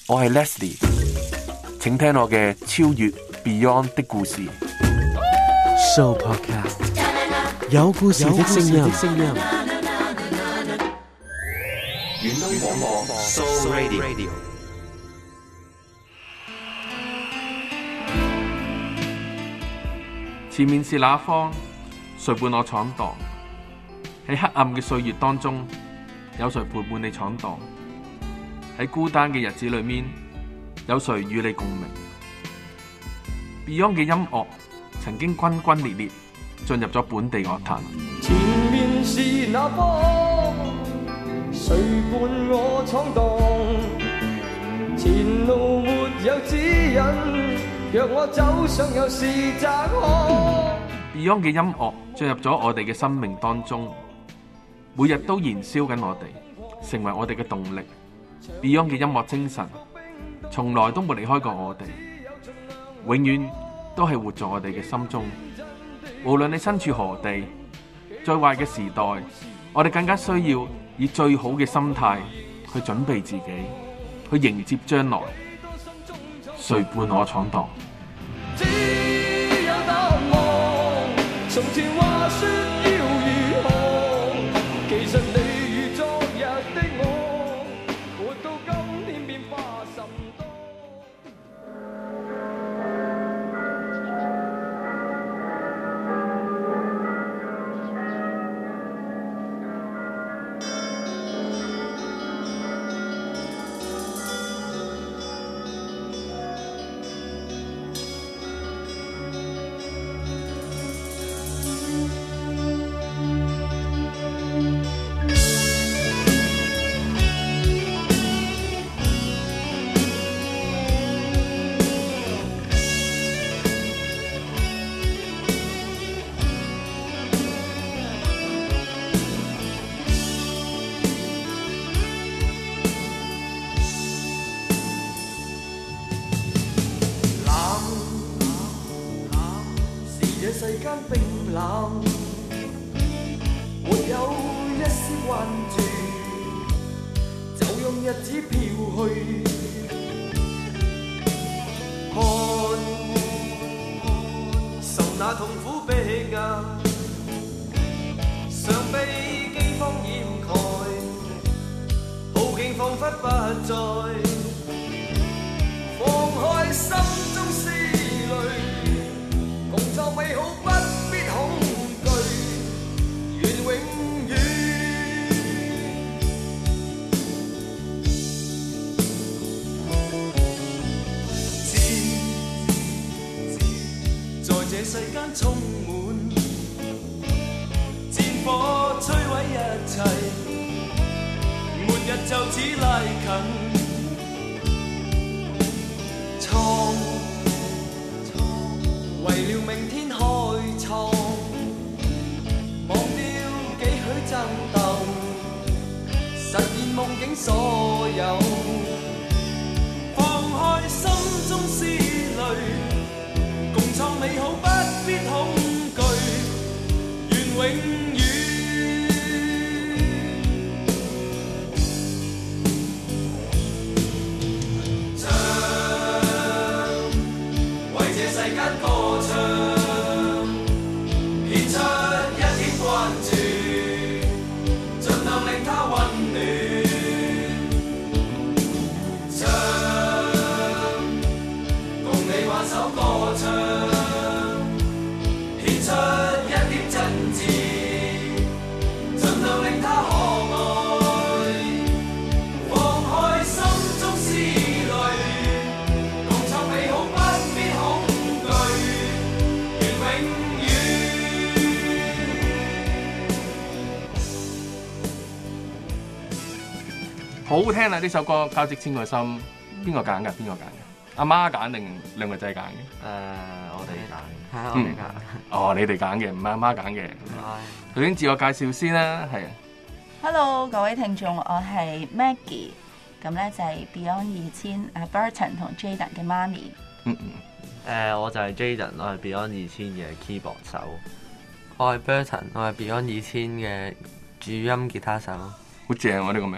我係 Leslie， 請聽我嘅超越 Beyond 的故事。 Sooo Podcast 有故事的聲音。 遠東廣播 Sooo Radio。 前面是那方，誰伴我闖蕩？喺黑暗嘅歲月當中，有誰陪伴你闖蕩？喺孤單嘅日子裏面，有誰與你共鳴？ Beyond 嘅音樂曾經轟轟烈烈進入咗本地樂壇。 前面是那方，誰伴我闖蕩？前路沒有指引，若我走上又是窄巷。 Beyond 嘅音樂進入咗我哋嘅生命當中，每日都燃燒緊我哋，成為我哋嘅動力。Beyond 嘅音樂精神從來都冇離開過我哋，永遠都係活在我哋嘅心中。無論你身處何地，最壞嘅時代，我哋更加需要以最好嘅心態去準備自己，去迎接將來。誰伴我闖蕩？ 只有答案，從前話說要如何，其實你與昨日的我，活到今天變化甚多。世間冰冷，沒有一絲關注，就讓日子飄去。看受那痛苦逼壓，常被饑荒掩蓋，好景彷彿不再，放開心中思慮。共創美好不必恐懼，願永遠在這世間充滿戰火摧毀一切，末日就此拉近。為了明天開創，忘掉幾許爭鬥，實現夢境所有，放開心中思慮，共創美好不必恐懼，願永遠好好聽啊！呢首歌《交織千個心》，邊個揀㗎？邊個揀嘅？阿媽揀定兩個仔揀嘅？ 我哋揀， 係我哋揀。 哦，你哋揀嘅，唔係阿媽揀嘅。首先自我介紹先啦，係。 Hello， 各位聽眾，我係 Maggie， 咁咧就係 Beyond 2000阿 Burton 同 Jaden 嘅媽咪。 我就係 Jaden， 我係 Beyond 2000嘅 keyboard 手。 我係 Burton， 我係 Beyond 2000嘅主音吉他手。 好正喎呢個名，主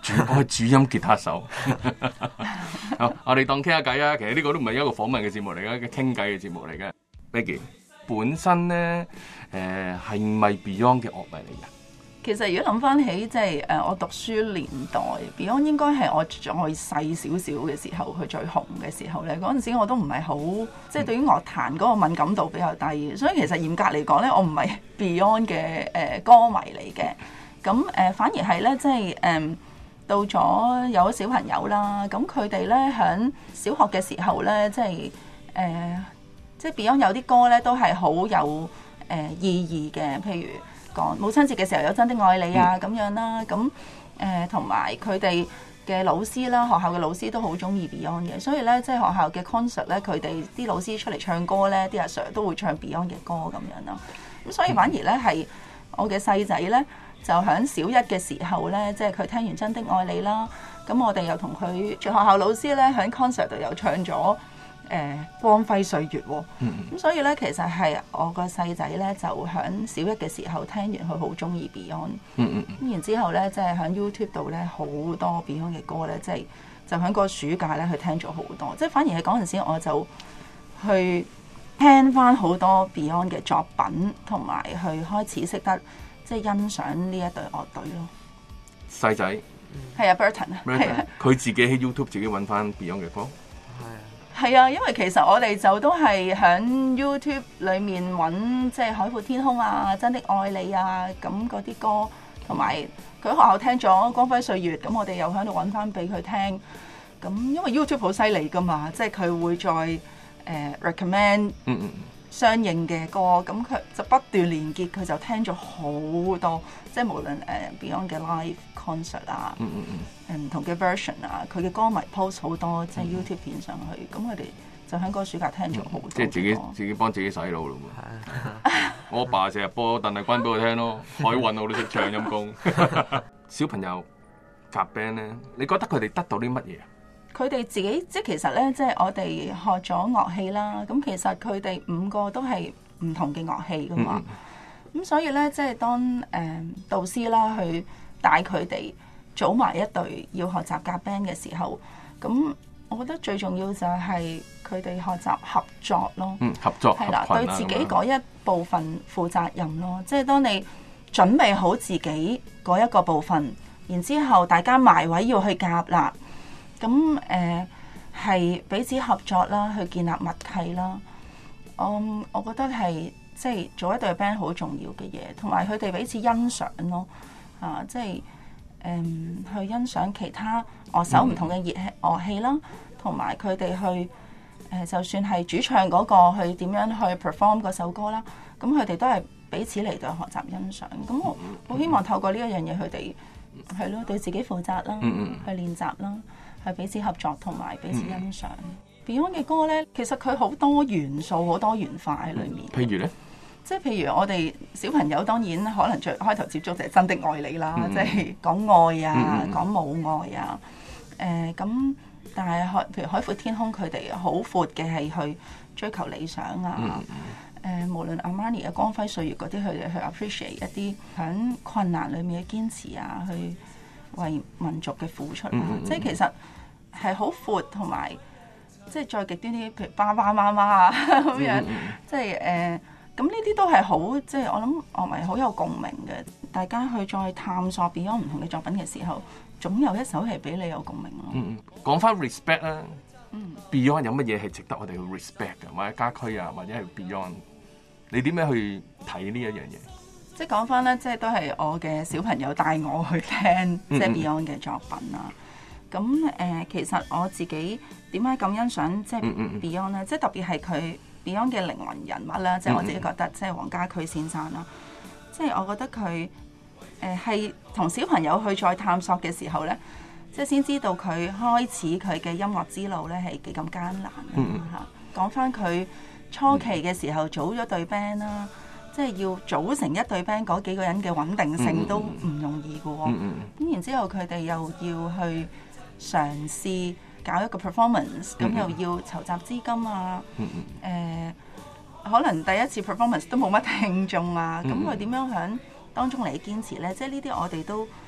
係主音吉他手。好，我哋當傾下偈啊。其實呢個都唔係一個訪問嘅節目嚟嘅，一個傾偈嘅節目嚟嘅。Maggie 本身咧，係咪 Beyond 嘅樂迷嚟嘅？ 其實如果諗翻起即係我讀書年代 Beyond 應該係我再細少少嘅時候，佢最紅嘅時候咧，嗰陣時我都唔係好即係對於樂壇嗰個敏感度比較低，所以其實嚴格嚟講咧，我唔係 Beyond 嘅歌迷嚟嘅。咁反而係咧，即係到咗有咗小朋友啦，咁佢哋咧喺小學嘅時候咧，即係即係 Beyond 有啲歌咧都係好有意義嘅，譬如講母親節嘅時候有真的愛你啊咁樣啦，咁同埋佢哋嘅老師啦，學校嘅老師都好中意 Beyond 嘅，所以咧即係學校嘅 concert 咧，佢哋啲老師出嚟唱歌咧，啲阿 Sir 都會唱 Beyond 嘅歌咁樣啦。咁所以反而咧係我嘅細仔咧，就喺小一嘅時候咧，即係佢聽完真的愛你啦，咁我哋又同佢學校老師咧喺 concert 度又唱咗光輝歲月喎。咁所以咧其實係我個細仔咧就喺小一嘅時候聽完佢好中意 Beyond。咁然之後咧即係喺 YouTube 度咧好多 Beyond 嘅歌咧，即係就喺個暑假咧佢聽咗好多，即係反而係嗰陣時我就去聽翻好多 Beyond 嘅作品，同埋去開始識得即係欣賞呢一隊樂隊咯。 細仔係啊 Burton 啊，係啊， 佢自己喺 YouTube 自己揾翻 Beyond 嘅歌。 係啊，因為其實我哋就都係喺 YouTube 裏面揾即係海闊天空啊、真的愛你啊咁嗰啲歌，同埋佢學校聽咗光輝歲月，咁我哋又喺度揾翻俾佢聽。咁因為 YouTube 好犀利噶嘛，即係佢會再recommend 相應嘅歌，咁佢就不斷連結，佢就聽咗好多，即係無論Beyond 嘅 live concert 啊，唔同嘅 version 啊，佢嘅歌迷 post 好多即係 YouTube 片上去，咁佢哋就喺嗰個暑假聽咗好多。 即係自己幫自己洗腦咯喎。我阿爸成日播鄧麗君俾我聽咯，海運我都識唱陰公。小朋友夾 band 咧，你覺得佢哋得到啲乜嘢？ 佢哋自己即係其實咧，即係我哋學咗樂器啦。咁其實佢哋5個都係唔同嘅樂器噶嘛。咁所以咧，即係當導師啦去帶佢哋組埋一隊要學習夾 band 嘅時候，咁我覺得最重要就係佢哋學習合作咯。 合作係啦，對自己嗰一部分負責任咯。即係當你準備好自己嗰一個部分，然之後大家埋位要去夾啦。咁係彼此合作啦，去建立默契啦。我覺得係即係做一隊 band 好重要嘅嘢，同埋佢哋彼此欣賞咯。即係去欣賞其他樂手唔同嘅樂器啦，同埋佢哋去就算係主唱嗰個去點樣去 perform 嗰首歌啦，咁佢哋都係彼此嚟到學習欣賞。咁我希望透過呢一樣嘢，佢哋係咯對自己負責啦，去練習啦。係彼此合作同埋彼此欣賞。Beyond 嘅歌咧，其實佢好多元素、好多元化喺裏面。 譬如咧， 即係譬如我哋小朋友當然可能最開頭接觸就係真的愛你啦，即係講愛啊、講母愛啊。咁但係譬如海闊天空，佢哋好闊嘅係去追求理想啊。無論 Armani 嘅光輝歲月嗰啲，佢哋去 appreciate 一啲喺困難裏面嘅堅持啊，去為民族嘅付出啊，即係其實係好闊，同埋即係再極端啲，譬如爸爸媽媽啊咁樣，即係咁呢啲都係好，即係我諗樂迷好有共鳴嘅。大家去再探索 Beyond 唔同嘅作品嘅時候，總有一首係俾你有共鳴咯。 講翻 respect 啦，Beyond 有乜嘢係值得我哋去 respect 嘅，或者家駒啊，或者係 Beyond，你點樣去睇呢一樣嘢？ 即係講翻咧，即係都係我嘅小朋友帶我去聽即係 Beyond 嘅作品啦。咁其實我自己點解咁欣賞即係 Beyond 咧？即係特別係佢 Beyond 嘅靈魂人物啦，即係我自己覺得即係黃家駒先生啦。即係我覺得佢係同小朋友去再探索嘅時候咧，即係先知道佢開始佢嘅音樂之路咧係幾咁艱難嚇。講翻佢初期嘅時候組咗隊 band 啦。即係要組成一隊 band 嗰幾個人嘅穩定性都唔容易嘅喎。咁然之後佢哋又要去嘗試搞一個 performance，咁又要籌集資金啊。可能第一次 performance 都冇乜聽眾啊。咁佢點樣喺當中嚟堅持咧？即係呢啲我哋都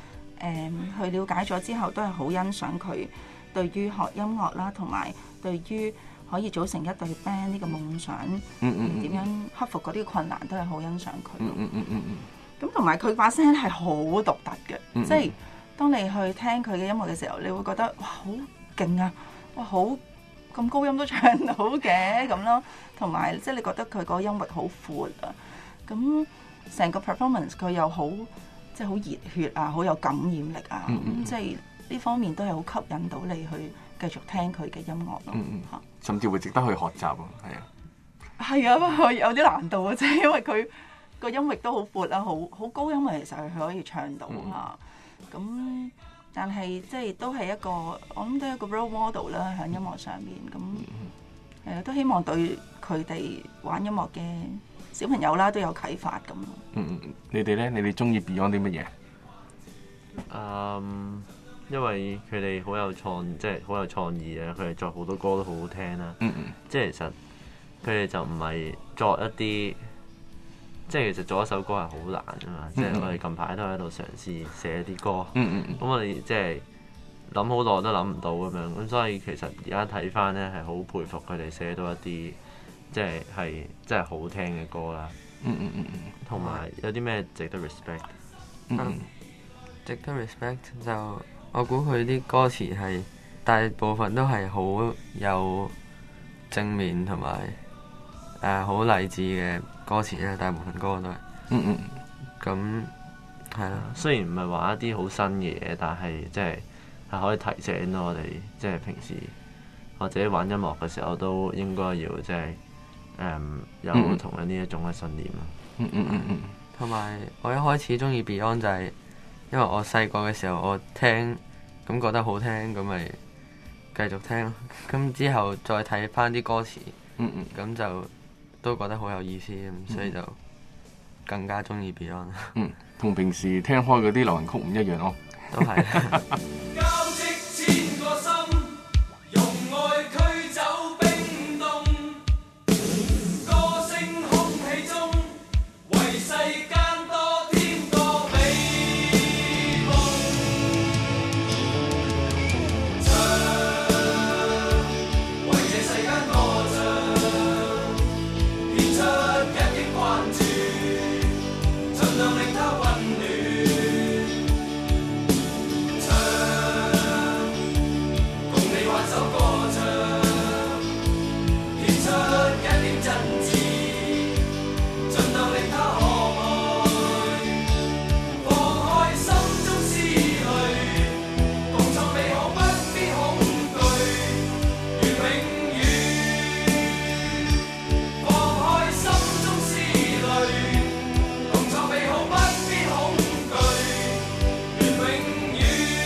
去了解咗之後，都係好欣賞佢對於學音樂啦，同埋對於可以組成一隊 band 呢個夢想，點樣克服嗰啲困難，都係好欣賞佢。咁同埋佢把聲係好獨特嘅，即係當你去聽佢嘅音樂嘅時候，你會覺得哇好勁啊！哇好咁高音都唱到嘅咁咯，同埋即係你覺得佢個音域好闊啊，咁成個 performance 佢又好即係好熱血啊，好有感染力啊，咁即係呢方面都係好吸引到你去繼續聽佢嘅音樂咯， 甚至會值得去學習啊， 係啊，有啲難度啊，即係因為佢個音域都好闊啊，好高音啊，其實佢可以唱到嚇，咁。但係即係都係一個，我諗都係一個 role model 啦，喺音樂上面咁，都希望對佢哋玩音樂嘅小朋友啦都有啟發咁。 你哋咧？你哋中意 Beyond 啲乜嘢？因為佢哋好有創意啊！佢哋作好多歌都好好聽啦。即係其實佢哋就唔係作一啲。即係其實做一首歌係好難㗎嘛，即係我哋近排都喺度嘗試寫啲歌，咁我哋即係諗好耐都諗唔到咁樣，咁所以其實而家睇翻咧係好佩服佢哋寫到一啲即係真係好聽嘅歌啦，同埋有啲咩值得 respect？ 值得 respect 就我估佢啲歌詞係大部分都係好有正面同埋好勵志嘅歌詞咧，大部分歌都係。咁係啦。 雖然唔係話一啲好新嘅嘢，但係即係可以提醒到我哋，即係平時或者玩音樂嘅時候都應該要即係有同樣呢一種嘅信念咯。 同埋我一開始中意 Beyond 就係因為我細個嘅時候我聽咁覺得好聽，咁咪繼續聽咯。咁之後再睇翻啲歌詞，咁就都覺得好有意思，所以就更加中意 Beyond。 同平時聽開嗰啲流行曲唔一樣咯。 都係。 交織千個心，用愛驅走冰凍，歌聲空氣中，為世間多添個美夢。唱，為這世間歌唱，獻出一億關注，盡量令它溫暖。首歌唱，獻出一點真摯，盡量令他可愛，放開心中思慮，共創美好不必恐懼，願永遠。放開心中思慮，共創美好不必恐懼，願永遠。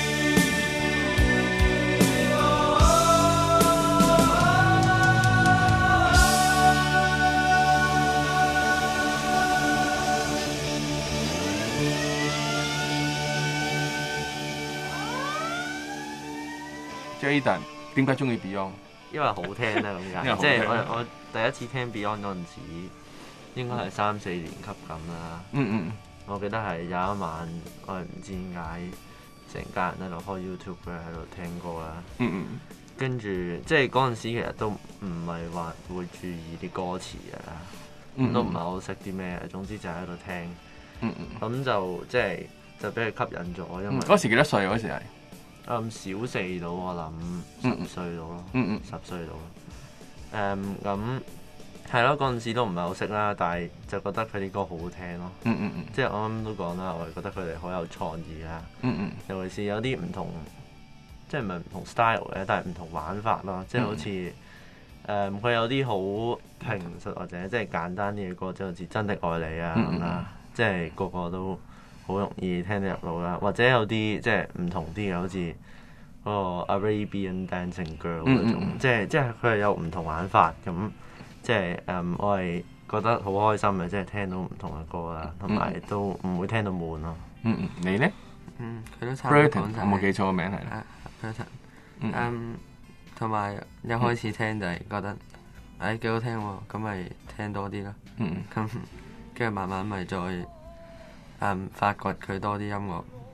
Jayden 點解中意 Beyond？ 因為好聽啦，咁解。即係我第一次聽 Beyond 嗰陣時，應該係3、4年級咁啦。我記得係有一晚，我係唔知點解，成家人喺度開 YouTube 喺度聽歌啦。跟住即係嗰陣時其實都唔係話會注意啲歌詞啊，都唔係好識啲咩，總之就喺度聽。咁就即係就俾佢吸引咗，因為嗰時幾多歲？嗰時係？ 小4到我諗10歲到咯，10歲到咯。咁係咯，嗰陣時都唔係好識啦，但係就覺得佢啲歌好好聽咯。即係我啱啱都講啦，我係覺得佢哋好有創意啦。尤其是有啲唔同，即係唔係唔同 style 嘅，但係唔同玩法咯。即係好似佢有啲好平實或者即係簡單啲嘅歌，即係好似真的愛你啊咁啦，即係個個都好容易聽得入腦啦，或者有啲即係唔同啲嘅，好似嗰個 Arabian Dancing Girl 嗰種，即係佢係有唔同玩法咁，即係我係覺得好開心嘅，即係聽到唔同嘅歌啦，同埋都唔會聽到悶咯。 你咧？ 佢都差唔多講晒。 我冇記錯個名係啦。 Burton。同埋一開始聽就係覺得幾好聽喎，咁咪聽多啲咯。咁跟住慢慢咪再發掘佢多啲音樂，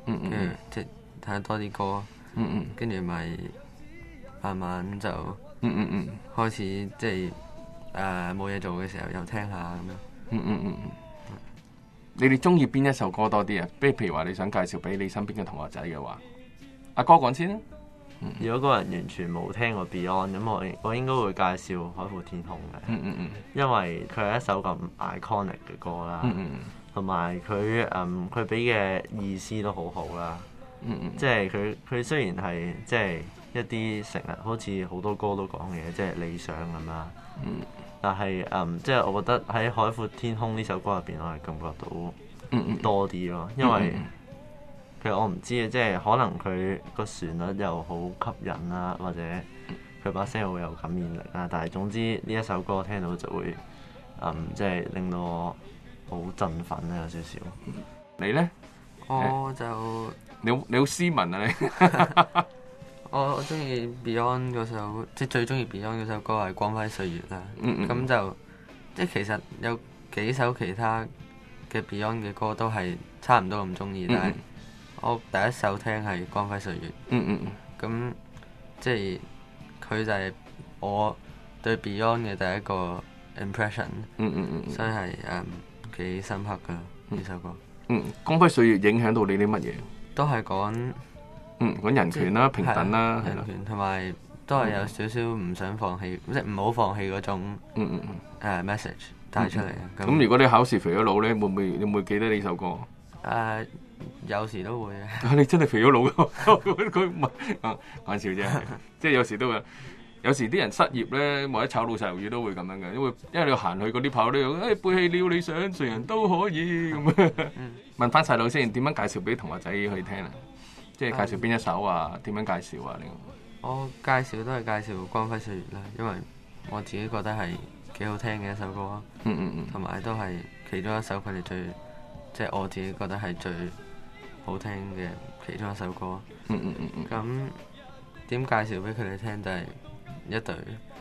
跟住即係睇下多啲歌，跟住咪慢慢就開始即係冇嘢做嘅時候又聽下咁樣。 你哋中意邊一首歌多啲啊？譬如話你想介紹俾你身邊嘅同學仔嘅話，阿哥講先啦。 如果個人完全冇聽過 Beyond， 咁我應該會介紹《海闊天空》嘅，因為佢係一首咁 iconic 嘅歌啦，同埋佢俾嘅意思都好好啦，即係佢雖然係即係一啲成日好似好多歌都講嘅，即係理想咁啦，但係即係我覺得喺《海闊天空》呢首歌入邊，我係感覺到多啲咯，因為其實我唔知啊，即係可能佢個旋律又好吸引啦，或者佢把聲好有感染力啦。但係總之呢一首歌聽到就會即係令到我好振奮咧，有少少。 你咧？ 我就你好斯文啊你！ 我中意 Beyond 嗰首，即係最中意 Beyond 嗰首歌係《光輝歲月》啦。咁就即係其實有幾首其他嘅 Beyond 嘅歌都係差唔多咁中意，但係我第一首聽係《光輝歲月》。咁即係佢就係我對 Beyond 嘅第一個 impression。所以係幾深刻噶呢首歌。 光輝歲月影響到你啲乜嘢？ 都係講講人權啦、平等啦， 人權同埋都係有少少唔想放棄，即係唔好放棄嗰種message 帶出嚟。 咁如果你考試肥咗佬咧，會唔會記得呢首歌？ 有時都會嘅。 你真係肥咗佬㗎？佢唔係講笑啫，即係有時都會。有時啲人失業咧，或者炒老細魷魚都會咁樣嘅，因為你行去嗰啲跑咧，背棄了理想，誰人都可以咁樣。問翻細佬先，點樣介紹俾同學仔去聽啊？即係介紹邊一首啊？點樣介紹啊？你我介紹都係介紹《光輝歲月》啦，因為我自己覺得係幾好聽嘅一首歌啊。同埋都係其中一首佢哋最，即係我自己覺得係最好聽嘅其中一首歌。咁點介紹俾佢哋聽就係一隊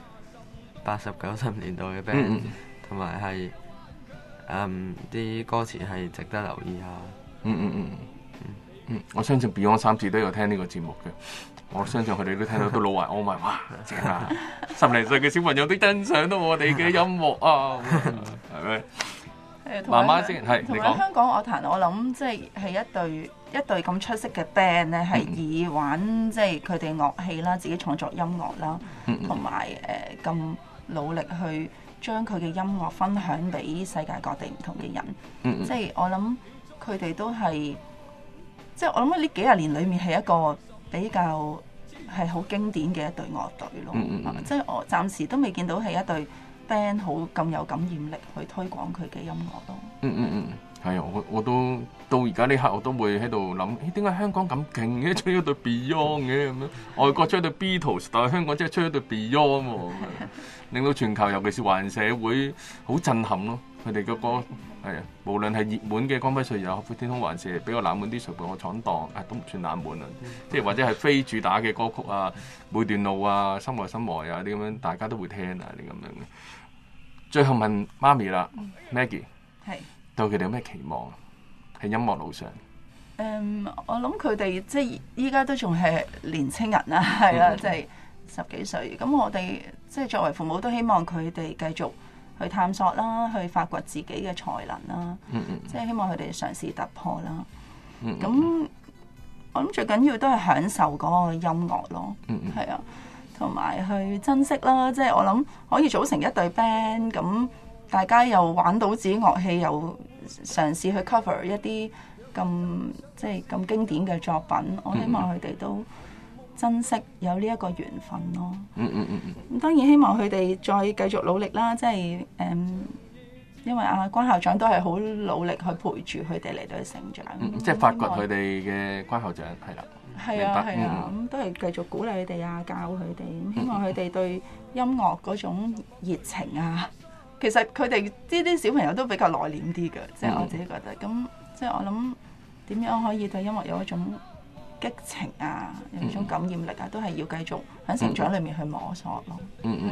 80、90年代嘅 band，同埋係啲歌詞係值得留意下。 我相信 Beyond 3字都有聽呢個節目嘅，我相信佢哋都聽到都老懷安慰，哇！正啊，10零歲嘅小朋友都欣賞到我哋嘅音樂啊，係咪？媽媽先係同埋香港樂壇，我諗即係一隊咁出色嘅 band 咧，係以玩即係佢哋樂器啦，自己創作音樂啦，同埋咁努力去將佢嘅音樂分享俾世界各地唔同嘅人。即係我諗佢哋都係，即係我諗呢幾廿年裏面係一個比較係好經典嘅一隊樂隊咯。即係我暫時都未見到係一隊band 好咁有感染力去推廣佢嘅音樂咯。 係啊，我都到而家呢刻我都會喺度諗，點解香港咁勁嘅出咗隊 Beyond 嘅咁樣？外國出咗隊 Beatles， 但係香港真係出咗隊 Beyond 喎，令到全球尤其是華人社會好震撼咯。佢哋嘅歌係啊，無論係熱門嘅《光輝歲月》有《海闊天空》，還是比較冷門啲《誰陪我闖蕩》，都唔算冷門啊。即係或者係非主打嘅歌曲啊，每段路啊，心內心外啊啲咁樣，大家都會聽啊啲咁樣嘅。最後問媽咪啦，Maggie，對佢哋有咩期望喺音樂路上？ 我諗佢哋即係依家都仲係年青人啦，係啦，即係10幾歲。咁我哋即係作為父母都希望佢哋繼續去探索啦，去發掘自己嘅才能啦。即係希望佢哋嘗試突破啦。咁我諗最緊要都係享受嗰個音樂咯。係啊。同埋去珍惜啦，即係我諗可以組成一隊 band， 咁大家又玩到自己樂器，又嘗試去 cover 一啲即係咁經典嘅作品。我希望佢哋都珍惜有呢一個緣分咯。咁當然希望佢哋再繼續努力啦，即係因為關校長都係好努力去陪住佢哋嚟到去成長。 即係發掘佢哋嘅關校長係啦。 係啊，咁都係繼續鼓勵佢哋啊，教佢哋，咁希望佢哋對音樂嗰種熱情啊，其實佢哋呢啲小朋友都比較內斂啲嘅，即係我自己覺得。咁即係我諗點樣可以對音樂有一種激情啊，有一種感染力啊，都係要繼續喺成長裏面去摸索咯。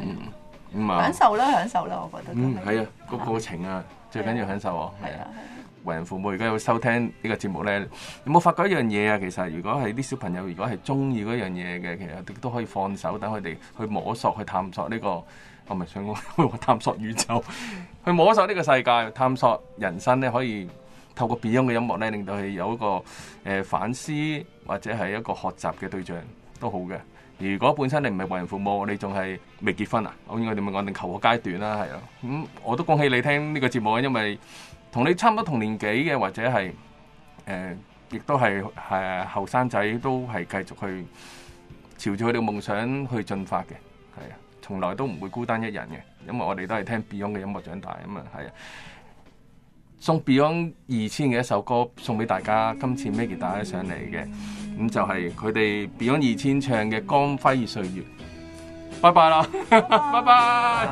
享受啦，我覺得。 係啊，個過程啊，最緊要享受啊。係啊。 為人父母而家有收聽呢個節目咧，有冇發覺一樣嘢啊？其實如果係啲小朋友如果係中意嗰樣嘢嘅，其實都可以放手，等佢哋去摸索、去探索呢個，我唔係想講探索宇宙，去摸索呢個世界、探索人生咧，可以透過 Beyond 嘅音樂咧，令到佢有一個反思或者係一個學習嘅對象都好嘅。如果本身你唔係為人父母，你仲係未結婚啊？我應該點樣講？定求學階段啦，係啊。咁我都恭喜你聽呢個節目啊，因為同你差唔多同年紀嘅，或者係亦都係後生仔，都係繼續去朝住佢哋嘅夢想去進發嘅，係啊，從來都唔會孤單一人嘅，因為我哋都係聽 Beyond 嘅音樂長大啊嘛，係啊。送 Beyond 2000嘅一首歌送俾大家，今次 Maggie 帶咗上嚟嘅。咁就係佢哋 Beyond 2000唱嘅《光輝歲月》。拜拜啦，拜拜。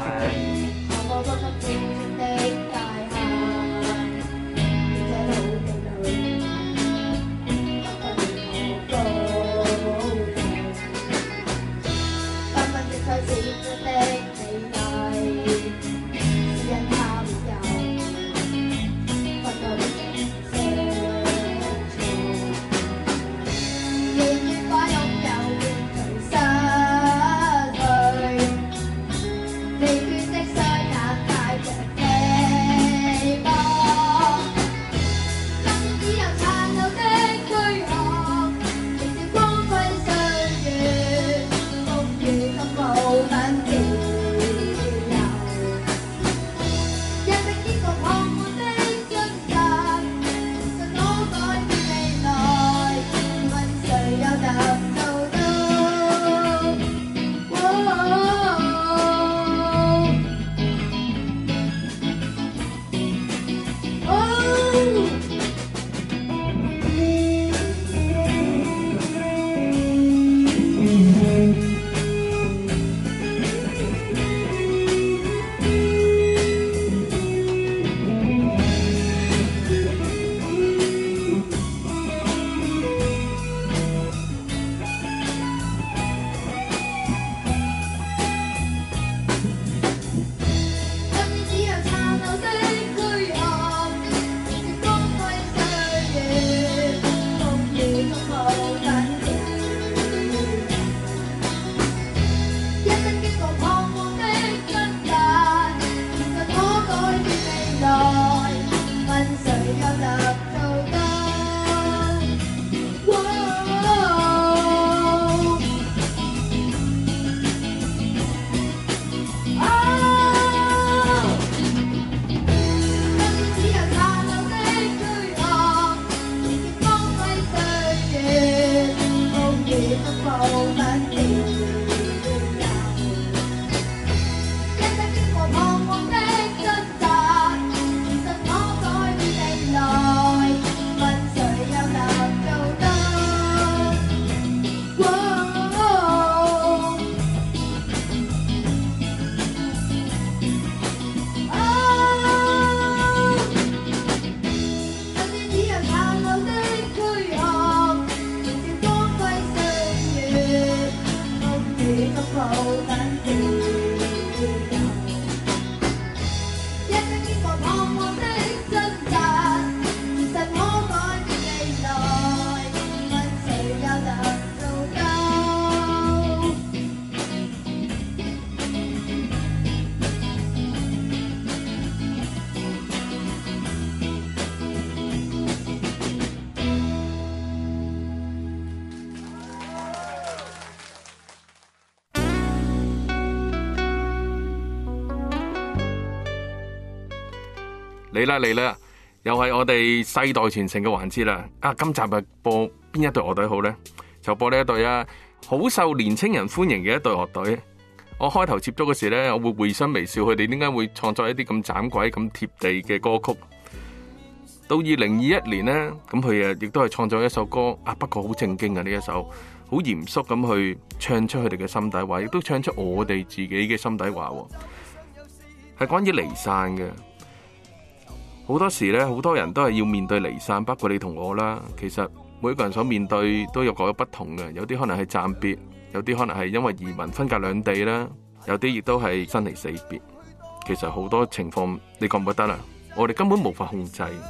嚟啦！又係我哋世代傳承嘅環節啦。今集係播邊一隊樂隊好呢？就播呢一隊啊，好受年青人歡迎嘅一隊樂隊。我開頭接觸嗰時呢，我會會心微笑，佢哋點解會創作一啲咁盞鬼、咁貼地嘅歌曲？到2021年呢，咁佢亦都係創作一首歌不過好正經嘅呢一首，好嚴肅咁去唱出佢哋嘅心底話，亦都唱出我哋自己嘅心底話，係關於離散嘅。好多時咧，好多人都係要面對離散，包括你同我啦。其實每一個人所面對都有各有不同嘅，有啲可能係暫別，有啲可能係因為移民分隔兩地啦，有啲亦都係生離死別。其實好多情況，你覺唔覺得啦？我哋根本無法控制，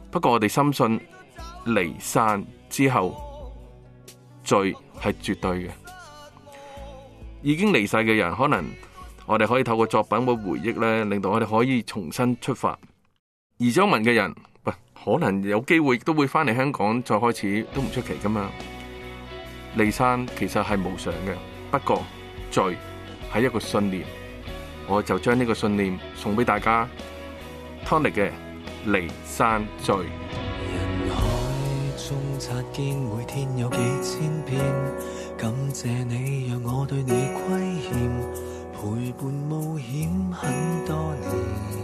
不過我哋深信離散之後，罪係絕對嘅。已經離世嘅人，可能我哋可以透過作品或回憶咧，令到我哋可以重新出發。移咗民嘅人，可能有機會都會翻嚟香港再開始，都唔出奇噶嘛。離散其實係無常嘅，不過罪係一個信念，我就將呢個信念送俾大家。Tonic 嘅離散罪。 人海中擦肩，每天有幾千遍，感謝你讓我對你虧欠，陪伴冒險很多年。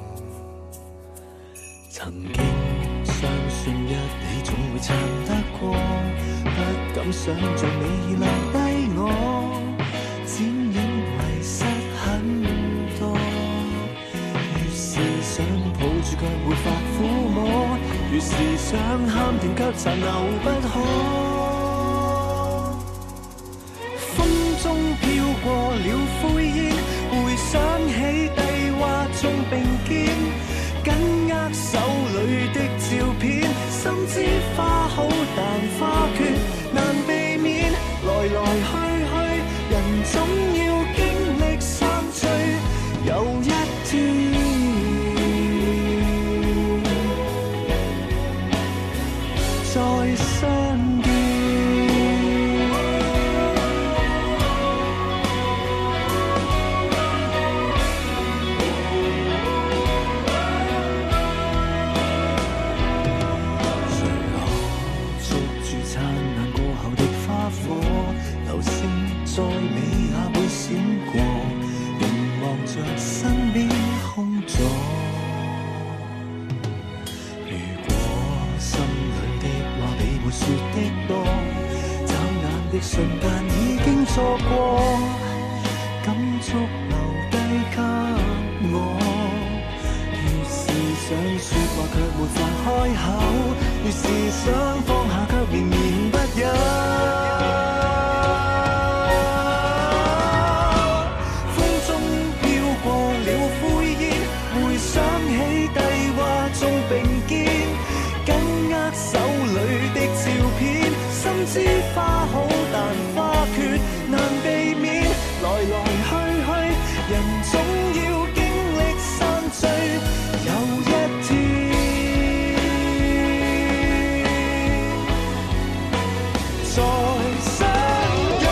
曾經相信一起總會撐得過，不敢想像你已留低我，只因遺失很多。越是想抱住卻沒法撫摸，越是想喊甜卻殘留不可。風中飄過了灰煙，回想起帝華中並肩，緊握手裏的照片，心知花好但花缺難避免，來來去去人總要經歷散聚，有一天再相見。流星在尾下會閃過，凝望着身邊空座。如果心裏的話比沒說的多，眨眼的瞬間已經錯過，感觸留低給我。越是想說話卻沒法開口，越是想放下卻綿綿不休。知花好但花缺難避免，來來去去人總要經歷散聚，有一天再相約。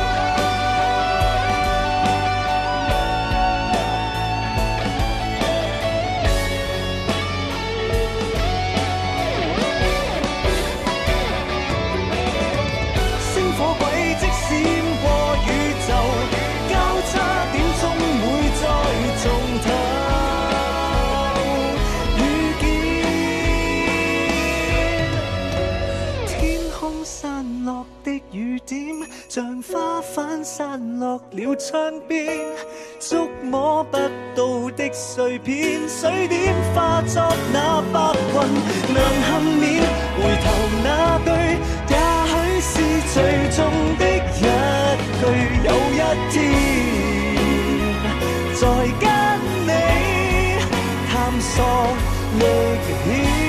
像花瓣散落了窗邊，觸摸不到的碎片，水點化作那白雲能幸免。回頭那句也許是最終的一句，有一天再跟你探索歷險。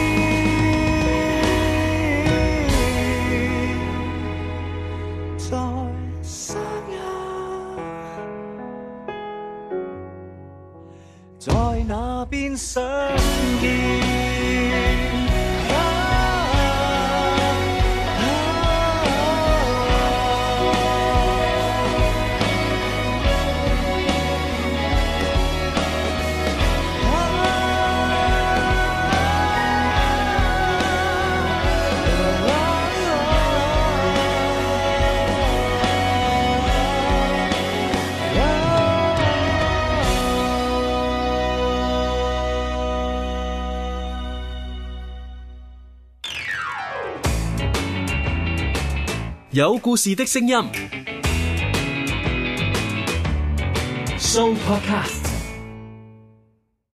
在那邊相見。 有故事的聲音 Show Podcast。